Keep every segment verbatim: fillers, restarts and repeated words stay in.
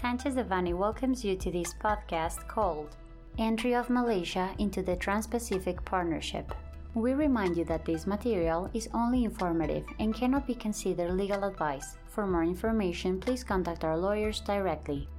Sanchez Devanny welcomes you to this podcast called Entry of Malaysia into the Trans-Pacific Partnership. We remind you that this material is only informative and cannot be considered legal advice. For more information, please contact our lawyers directly.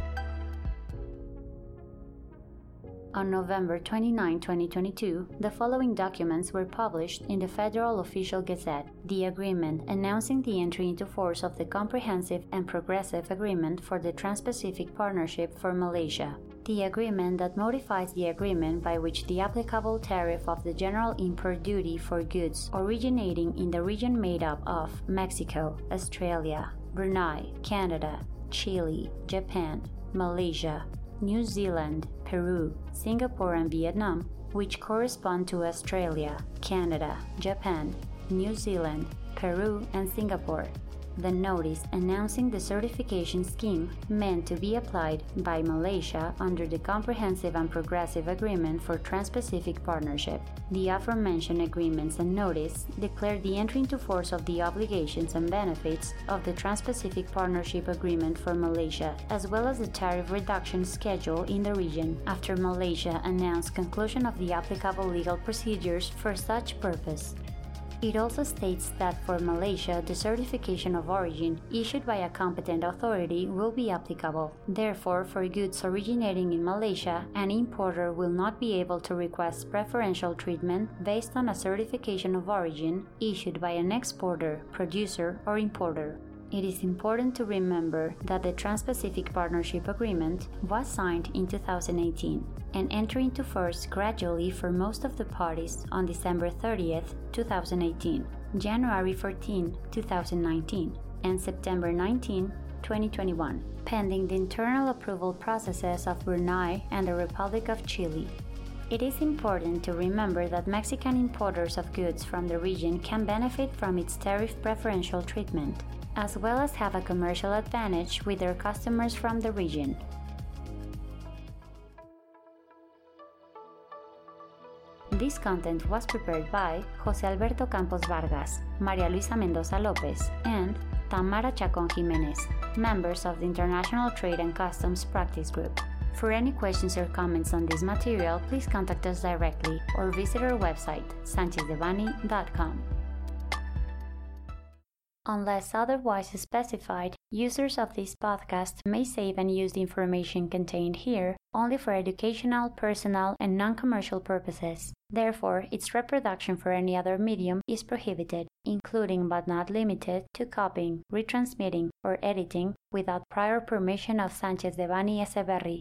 On November twenty-ninth, twenty twenty-two, the following documents were published in the Federal Official Gazette: the agreement announcing the entry into force of the Comprehensive and Progressive Agreement for the Trans-Pacific Partnership for Malaysia, the agreement that modifies the agreement by which the applicable tariff of the general import duty for goods originating in the region made up of Mexico, Australia, Brunei, Canada, Chile, Japan, Malaysia, New Zealand, Peru, Singapore and Vietnam, which correspond to Australia, Canada, Japan, New Zealand, Peru and Singapore. The notice announcing the certification scheme meant to be applied by Malaysia under the Comprehensive and Progressive Agreement for Trans-Pacific Partnership. The aforementioned agreements and notice declared the entry into force of the obligations and benefits of the Trans-Pacific Partnership Agreement for Malaysia, as well as the tariff reduction schedule in the region, after Malaysia announced conclusion of the applicable legal procedures for such purpose. It also states that for Malaysia, the certification of origin issued by a competent authority will be applicable. Therefore, for goods originating in Malaysia, an importer will not be able to request preferential treatment based on a certification of origin issued by an exporter, producer, or importer. It is important to remember that the Trans-Pacific Partnership Agreement was signed in two thousand eighteen and entered into force gradually for most of the parties on December thirtieth, two thousand eighteen, January fourteenth, two thousand nineteen, and September nineteenth, twenty twenty-one, pending the internal approval processes of Brunei and the Republic of Chile. It is important to remember that Mexican importers of goods from the region can benefit from its tariff preferential treatment, as well as have a commercial advantage with their customers from the region. This content was prepared by José Alberto Campos Vargas, María Luisa Mendoza López, and Tamara Chacón Jiménez, members of the International Trade and Customs Practice Group. For any questions or comments on this material, please contact us directly or visit our website, sanchez devanny dot com. Unless otherwise specified, users of this podcast may save and use the information contained here only for educational, personal, and non-commercial purposes. Therefore, its reproduction for any other medium is prohibited, including but not limited to copying, retransmitting, or editing without prior permission of Sanchez Devanny Echeverri.